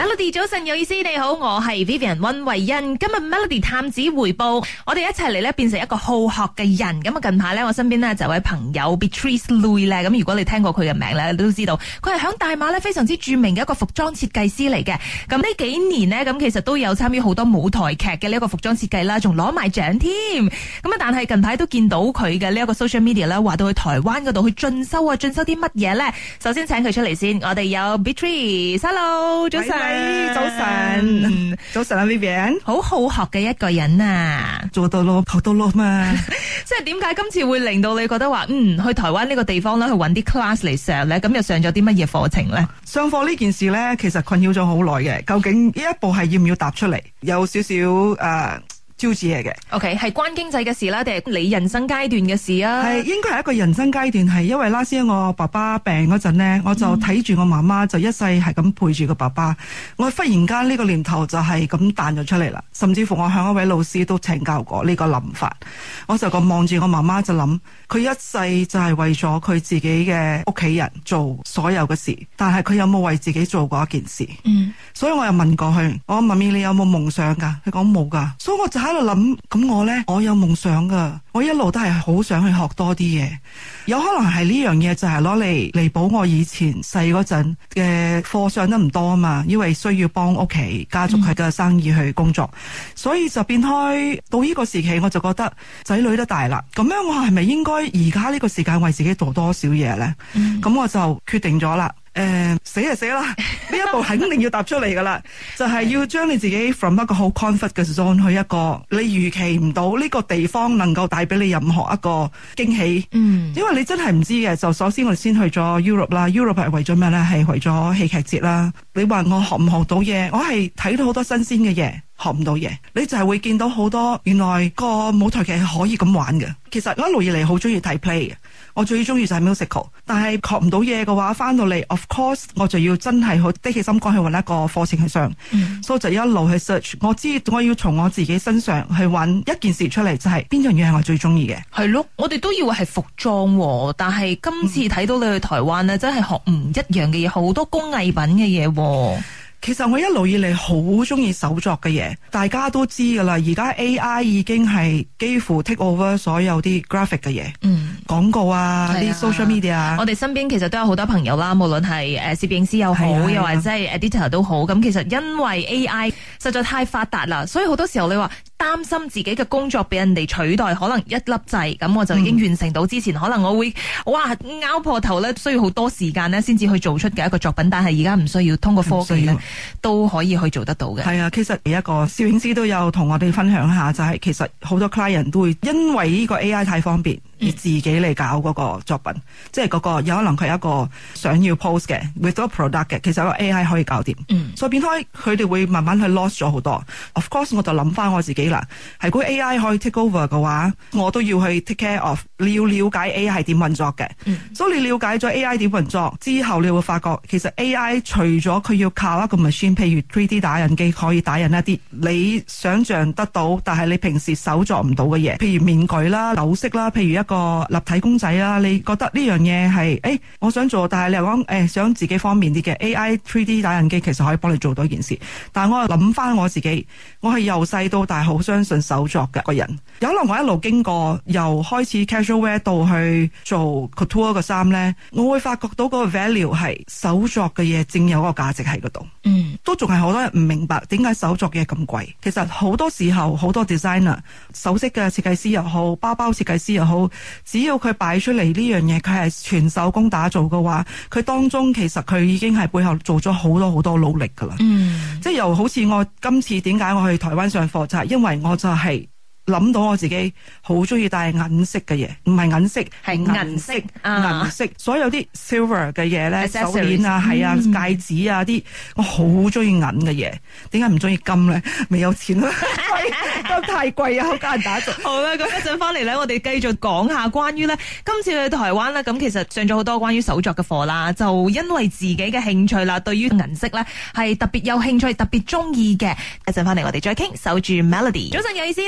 Melody 早晨有意思，你好，我係 Vivian 溫慧欣。今日 Melody 探子回報，我哋一齊嚟咧變成一個好學嘅人。咁啊，近排咧我身邊咧就有位朋友 Beatrice Lui 咧，咁如果你聽過佢嘅名咧，你都知道佢係響大馬咧非常之著名嘅一個服裝設計師嚟嘅。咁呢幾年呢，咁其實都有參與好多舞台劇嘅呢一個服裝設計啦，仲攞埋獎添。咁啊，但係近排都見到佢嘅呢一個 social media 咧，話到去台灣嗰度去進修啊，進修啲乜嘢咧？首先請佢出嚟先，我哋有 Beatrice，Hello， 早晨。 早晨，早晨啊 Vivian， 好好學嘅一個人啊， 做到咯，學到咯嘛。 即係點解今次會令到你覺得話，去台灣呢個地方咧，去揾啲 class 嚟上咧，咁又上咗啲乜嘢課程咧？ 上課呢件事咧，其實困擾咗好耐嘅。究竟呢一步係要唔要踏出嚟？有少少招子嚟嘅。 OK， 係關經濟嘅事啦，定係你人生階段嘅事啊？ 係應該係一個人生階段，係因為拉先我爸爸病嗰陣呢，我就睇住我媽媽就一世係咁陪住個爸爸。我忽然間呢個念頭就係咁彈咗出嚟啦，甚至乎我向一位老師都請教過呢個諗法。我就咁望住我媽媽就諗，佢一世就係為咗佢自己嘅屋企人做所有嘅事，但係佢有冇為自己做過一件事？所以我又問過佢，我媽咪你有冇夢想㗎？佢講冇㗎，所以我就喺度諗，咁我呢，我有夢想㗎，我一路都係好想去學多啲嘢，有可能係呢樣嘢就係攞嚟彌補我以前細嗰陣嘅課上得唔多啊嘛，因為需要幫屋企家族佢嘅生意去工作，所以就變開到呢個時期，我就覺得仔女都大啦，咁樣我係咪應該而家呢個時間為自己做多少嘢呢？咁我就決定咗啦。死就死啦！呢一步肯定要踏出嚟噶啦，就係要將你自己 from 一個好 comfort 嘅 zone 去一個你預期唔到呢個地方能夠帶俾你任何一個驚喜。因為你真係唔知嘅。就首先我哋先去咗 Europe 啦 ，Europe 係為咗咩呢？係為咗戲劇節啦。你話我學唔學到嘢？我係睇到好多新鮮嘅嘢。學唔到嘢，你就係會見到好多原來個舞台劇係可以咁玩嘅。其實我一路以嚟好中意睇 play 嘅，我最中意就係 musical。但係學唔到嘢嘅話，翻到嚟 of course 我就要真係好的起心肝去揾一個課程去上。所以就一路去 search。我知我要從我自己身上去揾一件事出嚟，就係邊樣嘢係我最中意嘅。係咯，我哋都以為係服裝，但係今次睇到你去台灣呢，真係學唔一樣嘅嘢，好多工藝品嘅嘢。 其實我一路以嚟好中意手作嘅嘢，大家都知噶啦。而家 AI 已經係幾乎 take over 所有啲 graphic 嘅嘢，廣告啊，啲 social media。我哋身邊其實都有好多朋友啦，無論係攝影師又好，又或者係 editor 都好。咁其實因為 AI 實在太發達啦，所以好多時候你話擔心自己嘅工作俾人哋取代，可能一粒掣咁我就已經完成到之前，可能我會拗破頭咧，需要好多時間咧先至去做出嘅一個作品。但係而家唔需要，通過科技咧都可以去做得到嘅。 係啊，其實一個攝影師都有同我哋分享一下，就係其實好多 client 都會因為呢個 AI 太方便而自己嚟搞嗰個作品，即係嗰個有可能佢一個想要 post 嘅 with a product 嘅，其實個 AI 可以搞掂。所以變開佢哋會慢慢去 lost 咗好多。Of course 我就諗翻我自己啦，係如果 AI 可以 take over 嘅話，我都要去 take care of。你要了解 AI 係點運作嘅，所以你了解咗 AI 點運作之後，你會發覺其實 AI 除咗佢要靠一個 machine， 譬如 3D 打印機可以打印一啲你想象得到，但係你平時手作唔到嘅嘢，譬如面具啦、首飾啦，譬如一個立體公仔啦，你覺得呢樣嘢係我想做，但係你又講想自己方便啲嘅 AI 3D 打印機其實可以幫你做到一件事。但係我又諗翻我自己，我係由細到大好相信手作嘅個人。有可能我一路經過由開始 casual wear 到去做 couture 嘅衫呢，我會發覺到嗰個 value 係手作嘅嘢正有嗰個價值喺嗰度。都仲係好多人唔明白點解手作嘅嘢咁貴。其實好多時候好多 designer 首飾嘅設計師又好，包包設計師又好，只要佢擺出嚟呢樣嘢，佢係全手工打造嘅話，佢當中其實佢已經係背後做咗好多好多努力噶啦。即係又好似我今次點解我去台灣上課，就係因為我就係諗到我自己好中意戴銀色嘅嘢，唔係銀色，係銀色，銀色，所有啲 silver 嘅嘢咧，手鏈啊，係啊，戒指啊啲，我好中意銀嘅嘢。點解唔中意金咧？未有錢啦，金太貴啊，好艱難打造。 好啦，咁一陣翻嚟咧，我哋繼續講下關於咧今次去台灣咧，咁其實上咗好多關於手作嘅課啦，就因為自己嘅興趣啦，對於銀色咧係特別有興趣，特別中意嘅。一陣翻嚟我哋再傾，守住 Melody。早晨有意思，你好，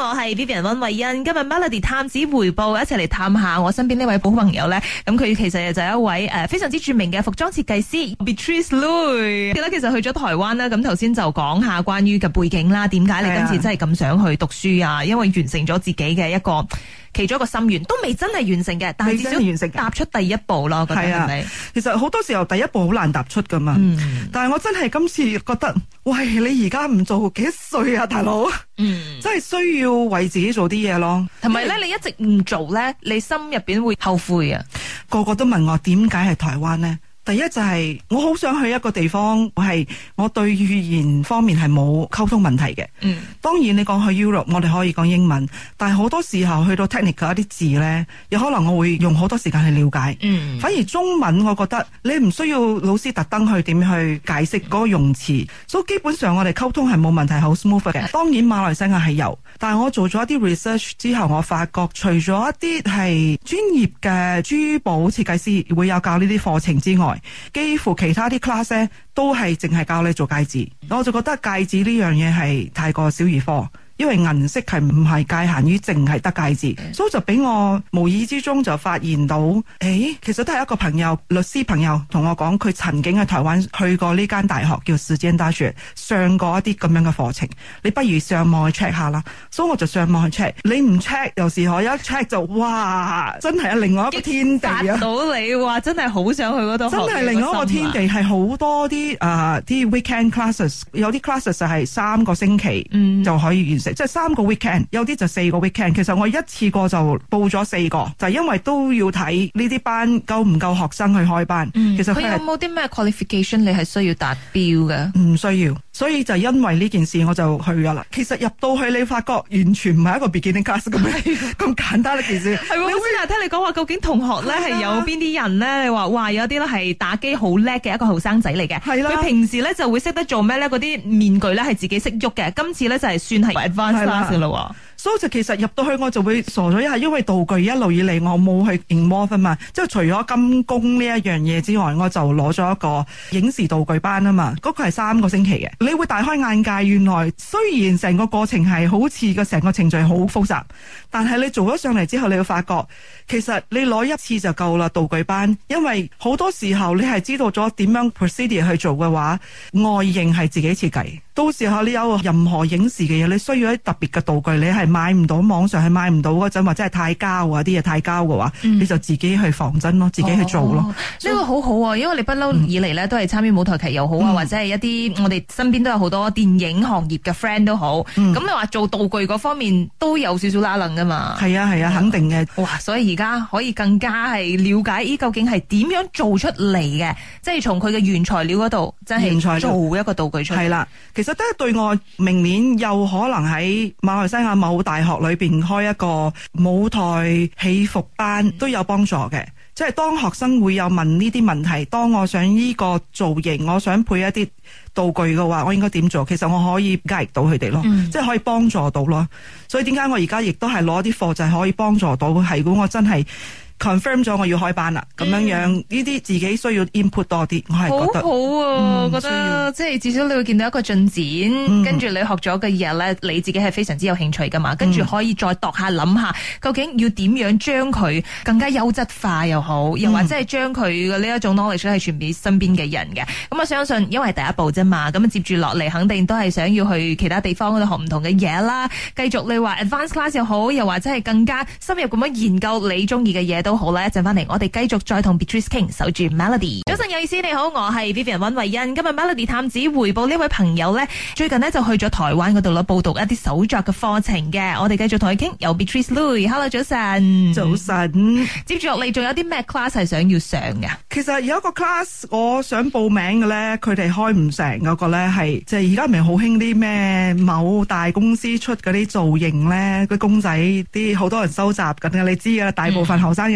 我係 Vivian 溫慧欣。今日 Melody 探子回報，一齊嚟探下我身邊呢位好朋友咧。咁佢其實就係一位非常之著名嘅服裝設計師 Beatrice Lui。其實去咗台灣啦，咁頭先就講下關於嘅背景啦，點解你今次真係咁想去讀書啊？因為完成咗自己嘅一個其中一個心願，都未真係完成嘅，但係至少完成踏出第一步咯。覺得係咪？ 其實好多時候第一步好難踏出噶嘛。但係我真係今次覺得，喂，你而家唔做幾歲啊，大佬？真係需要為自己做啲嘢咯。同埋咧，你一直唔做咧，你心入邊會後悔啊。個個都問我點解係台灣呢？第一就係我好想去一個地方，我對語言方面係冇溝通問題嘅。當然你講去 Europe， 我哋可以講英文，但係好多時候去到 technical 一啲字咧，有可能我會用好多時間去了解。反而中文我覺得你唔需要老師特登去點去解釋嗰個用詞，所以基本上我哋溝通係冇問題，好 smooth 嘅。當然馬來西亞係有，但係我做咗一啲 research 之後，我發覺除咗一啲係專業嘅珠寶設計師會有教呢啲課程之外，幾乎其他啲 class 咧都係淨係教你做戒指，我就覺得戒指呢樣嘢係太過小兒科。因為銀色係唔係界限於淨係得戒指，所以就俾我無意之中就發現到，其實都係一個朋友，律師朋友同我講，佢曾經喺台灣去過呢間大學叫時間大學，上過一啲咁樣嘅課程。你不如上網去 check 下啦。所以我就上網去 check， 你唔 check 有時我一 check 就哇，真係另外一個天地啊！達到你話真係好想去嗰度，真係另外一個天地，係好多啲啲 weekend classes， 有啲 classes 就係3個星期就可以完成。即係3個 weekend， 有啲就4個 weekend。其實我一次過就報咗4個，就係因為都要睇呢啲班夠唔夠學生去開班。其實佢有冇啲咩 qualification 你係需要達標嘅？唔需要，所以就因為呢件事我就去咗啦。其實入到去你發覺完全唔係一個 beginning class 咁簡單一件事。係喎，我先聽你講話，究竟同學咧係有邊啲人咧？你話哇，有啲咧係打機好叻嘅一個後生仔嚟嘅。係啦，佢平時咧就會識得做咩咧？嗰啲面具咧係自己識喐嘅。今次咧就係算係 advanced class 啦。所以就其實入到去我就會傻咗一下，因為道具一路以嚟我冇去 involve 啊嘛。即係除咗金工呢一樣嘢之外，我就攞咗一個影視道具班啊嘛。嗰個係3個星期嘅，你會大開眼界。原來雖然成個過程係好似個成個程序好複雜，但係你做咗上嚟之後，你會發覺其實你攞一次就夠啦。道具班，因為好多時候你係知道咗點樣 procedure 去做嘅話，外形係自己設計。到時候你有任何影視嘅嘢，你需要一特別嘅道具，你係買唔到，網上係買唔到嗰陣，或者係太膠啊啲嘢太膠嘅話，你就自己去仿真咯，自己去做咯。呢個好好啊，因為你不嬲以嚟咧都係參與舞台劇又好啊，或者係一啲我哋身邊都有好多電影行業嘅 friend 都好。咁你話做道具嗰方面都有少少拉楞噶嘛？係啊係啊，肯定嘅。哇！所以而家可以更加係了解究竟係點樣做出嚟嘅，即係從佢嘅原材料嗰度，即係做一個道具出嚟。係啦，其實都係對我明年有可能喺馬來西亞某大學裏邊開一個舞台戲服班都有幫助嘅。即係當學生會有問呢啲問題，當我想呢個造型，我想配一啲道具嘅話，我應該點做？其實我可以 guide 到佢哋咯，即係可以幫助到咯。所以點解我而家亦都係攞啲課就係可以幫助到，係如果我真係confirm 咗我要開班啦，咁樣樣呢啲自己需要 input 多啲，我係覺得好啊，我覺得即係至少你會見到一個進展，跟住你學咗嘅嘢咧，你自己係非常之有興趣噶嘛，跟住可以再度下諗下，究竟要點樣將佢更加優質化又好，又或者係將佢嘅呢一種 knowledge 係傳俾身邊嘅人嘅。咁我相信，因為係第一步啫嘛，咁接住落嚟肯定都係想要去其他地方嗰度學唔同嘅嘢啦，繼續你話 advanced class 又好，又或者係更加深入咁樣研究你中意嘅嘢都好啦。一陣翻嚟，我哋繼續再同 Beatrice King 守住 Melody。早晨有意思，你好，我係 Vivian 溫慧欣。今日 Melody 探子回報呢位朋友呢，最近呢就去咗台灣嗰度啦，報讀一啲手作嘅課程嘅。我哋繼續同佢傾，有 Beatrice Lui。Hello， 早晨。早晨。接住落嚟，仲有啲咩 class 係想要上嘅？其實有一個 class 我想報名嘅呢，佢哋開唔成嗰個呢係，即係而家唔係好興啲咩某大公司出嗰啲造型呢，個公仔啲好多人收集緊嘅，你知噶啦，大部分後生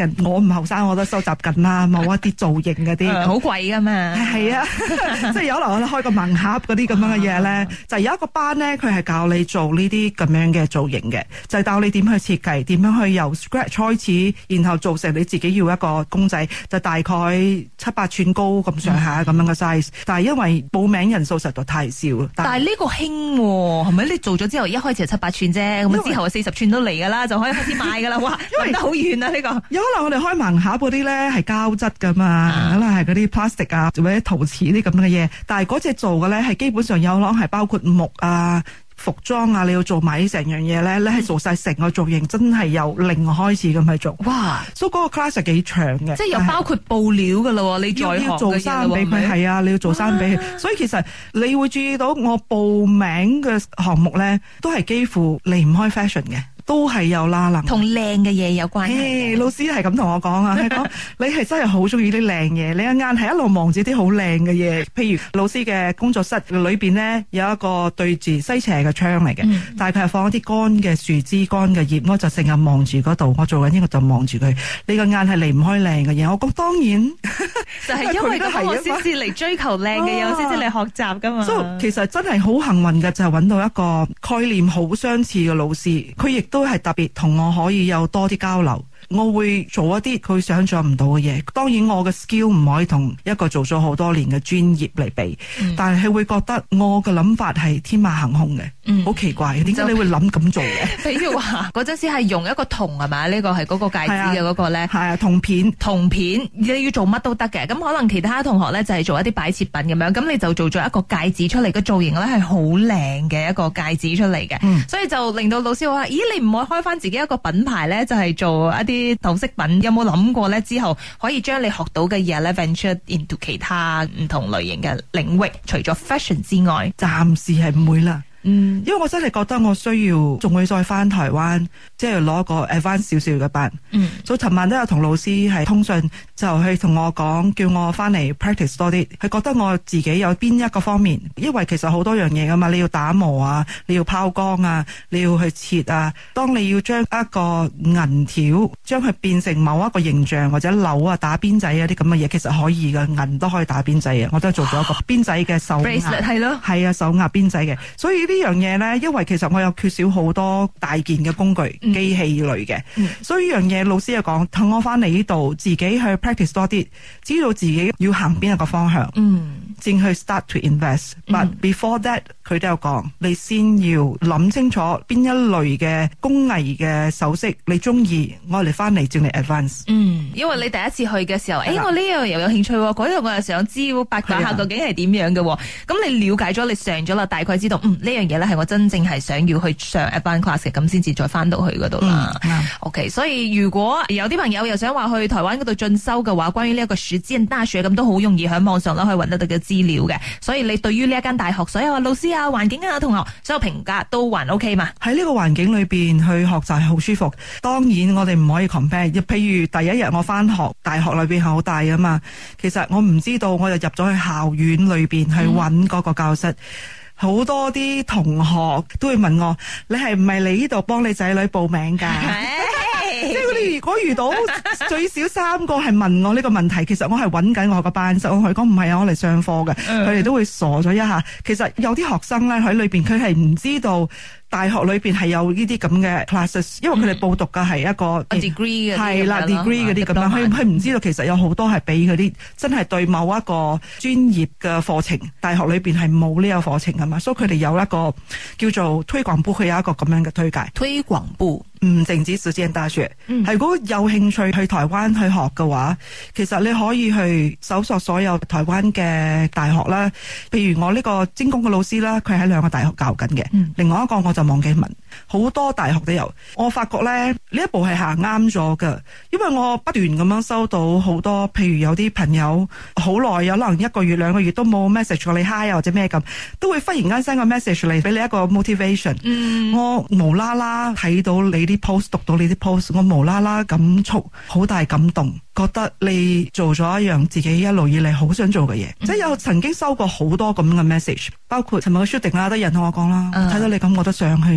人，我唔後生我都收集緊啦，某一啲造型嗰啲， 好貴噶嘛。 係啊，即係有可能我哋開個盲盒嗰啲咁樣嘅嘢咧，就有一個班咧，佢係教你做呢啲咁樣嘅造型嘅，就係教你點去設計，點樣去由 scratch 開始，然後做成你自己要一個公仔，就大概7-8寸高咁上下咁樣嘅 size。但係因為報名人數實在太少， 但係呢個興喎，係咪？你做咗之後一開始係7-8寸啫，咁之後40寸都嚟㗎啦，就可以開始賣㗎啦。哇，因為好遠啊呢個。有可能我哋開盲盒嗰啲咧係膠質㗎嘛，可能係嗰啲 plastic 啊，或者陶瓷啲咁嘅嘢。但係嗰隻做嘅咧係基本上有可能係包括木啊、服裝啊，你要做埋成樣嘢咧，你係做晒成個造型，真係由零開始咁去做。哇！所以嗰個 class 係幾長嘅，即係又包括布料噶咯，你再要做衫俾佢，係啊，你要做衫俾佢。所以其實你會注意到我報名嘅項目咧，都係幾乎離唔開 fashion 嘅。都係有拉楞，同靚嘅嘢有關係。老師係咁同我講啊，係講你係真係好中意啲靚嘢，你一眼係一路望住啲好靚嘅嘢。譬如老師嘅工作室裏邊呢，有一個對住西斜嘅窗嚟嘅，但係佢係放一啲乾嘅樹枝、乾嘅葉，我就成日望住嗰度，我做緊呢個就望住佢。你個眼係離唔開靚嘅嘢，我講當然就係因為咁我先至嚟追求靚嘅嘢，我先至嚟學習噶嘛。所以其實真係好幸運嘅，就係揾到一個概念好相似嘅老師，佢亦都係特別同我可以有多啲交流。我會做一啲佢想象唔到嘅嘢，當然我嘅 skill 唔可以同一個做咗好多年嘅專業嚟比，但係佢會覺得我嘅諗法係天馬行空嘅，好奇怪，點解你會諗咁做嘅？譬如話嗰陣時係用一個銅係嘛？呢個係嗰個戒指嘅嗰個咧，係啊，銅片，你要做乜都得嘅。咁可能其他同學咧就係做一啲擺設品咁樣，咁你就做咗一個戒指出嚟，個造型咧係好靚嘅一個戒指出嚟嘅，所以就令到老師話：咦，你唔可以開翻自己一個品牌咧，就係做一啲頭飾品？有冇諗過咧？之後可以將你學到嘅嘢咧 venture into 其他唔同類型嘅領域，除咗 fashion 之外，暫時係唔會啦。因為我真係覺得我需要仲會再翻台灣，即係攞個 advance 少少嘅班。所以尋晚都有同老師係通訊，就去同我講，叫我翻嚟 practice 多啲。佢覺得我自己有邊一個方面，因為其實好多樣嘢噶嘛，你要打磨啊，你要拋光啊，你要去切啊。當你要將一個銀條將佢變成某一個形象或者鈕啊、打邊仔啊啲咁嘅嘢，其實可以噶，銀都可以打邊仔嘅。我都做咗一個邊仔嘅手鐲，係咯，係啊，手鐲邊仔嘅。所以呢樣嘢咧，因為其實我有缺少好多大件嘅工具、機器類嘅，所以呢樣嘢老師又講，等我翻嚟呢度自己去 practice 多啲，知道自己要行邊一個方向，先去 start to invest。But before that，佢都有講，你先要諗清楚邊一類嘅工藝嘅首飾你中意，我哋翻嚟叫你 advance。因為你第一次去嘅時候，我呢樣又有興趣，嗰樣我又想知八卦下究竟係點樣嘅。咁你了解咗，你上咗啦，大概知道呢樣嘢咧係我真正係想要去上 advance class 嘅，咁先至再翻到去嗰度啦。OK， 所以如果有啲朋友又想話去台灣嗰度進修嘅話，關於呢一個實踐大學咁都好容易喺網上可以揾得到嘅資料嘅。所以你對於呢一間大學所有老師啊、環境啊、同學所有評價都還 OK 嘛？喺呢個環境裏邊去學習係好舒服。當然我哋唔可以 compare。譬如第一日我翻學，大學裏邊係好大啊嘛。其實我唔知道，我就入咗去校園裏邊去揾嗰個教室。好多啲同學都會問我：你係唔係嚟呢度幫你仔女報名㗎？即係你如果遇到最少3個係問我呢個問題，其實我係揾緊我個班室，我同佢講唔係啊，我嚟上課嘅，佢哋都會傻咗一下。其實有啲學生咧喺裏邊，佢係唔知道大學裏邊係有呢啲咁嘅 classes， 因為佢哋報讀嘅係一個 degree 嘅，係啦 degree 嗰啲咁樣，佢唔知道其實有好多係俾嗰啲真係對某一個專業嘅課程，大學裏邊係冇呢個課程㗎嘛，所以佢哋有一個叫做推廣部，佢有一個咁樣嘅推介。推廣部唔淨止實踐大學，係如果有興趣去台灣去學嘅話，其實你可以去搜索所有台灣嘅大學啦。譬如我呢個精工嘅老師啦，佢喺2個大學教緊嘅，另外一個我就忘記問，好多大學都有。我發覺咧呢一步係行啱咗㗎，因為我不斷咁樣收到好多，譬如有啲朋友好耐，有可能1個月2個月都冇 message 過你 hi 啊或者咩咁，都會忽然間 send 個 message 嚟俾你一個 motivation。我無啦啦睇到你啲 post， 讀到你啲 post， 我無啦啦感觸好大感動，覺得你做咗一樣自己一路以嚟好想做嘅嘢。即係有曾經收過好多咁嘅 message， 包括尋日嘅 shooting 啦，都有人同我講啦，睇到你咁我都想去啊。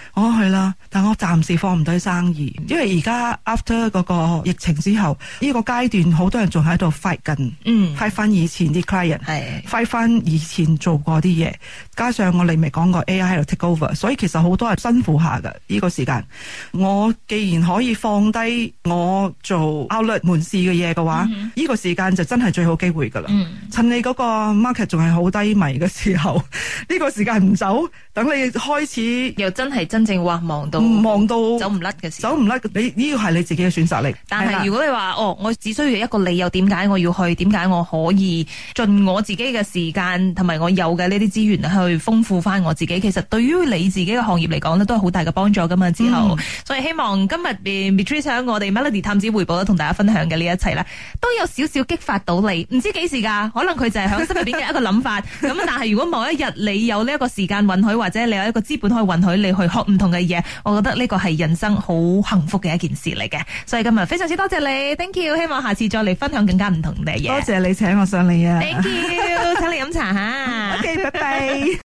我係啦，但我暫時放唔低生意，因為而家 after 嗰個疫情之後，呢個階段好多人仲喺度 fight 緊，fight 翻以前啲 client， fight 翻以前做過啲嘢，加上我哋未講過 AI 喺度 take over， 所以其實好多人辛苦下㗎呢個時間。我既然可以放低我做 outlet 門市嘅嘢嘅話，呢個時間就真係最好機會㗎啦。趁你嗰個 market 仲係好低迷嘅時候，呢個時間唔走，等你開始又真係真正忙到走唔甩嘅時候， 走唔甩，你呢個係你自己嘅選擇力。 但係如果你話我只需要一個理由，點解我要去？點解我可以盡我自己嘅時間同埋我有嘅呢啲資源去豐富翻我自己？其實對於你自己嘅行業嚟講咧，都係好大嘅幫助噶嘛。之後，所以希望今日 Beatrice 喺我哋 Melody 探子回報咧，同大家分享嘅呢一切咧，都有少少激發到你。唔知幾時㗎？可能佢就係喺心入邊嘅一個諗法。咁但係如果某一日你有呢一個時間允許，或者你有一個資本可以允許你去學唔同嘅嘢，我覺得呢個係人生好幸福嘅一件事嚟嘅。所以今日非常之多謝你 ，Thank you。希望下次再嚟分享更加唔同嘅嘢。 多謝你請我上嚟啊 ！Thank you，請你飲茶吓。 OK， 拜拜。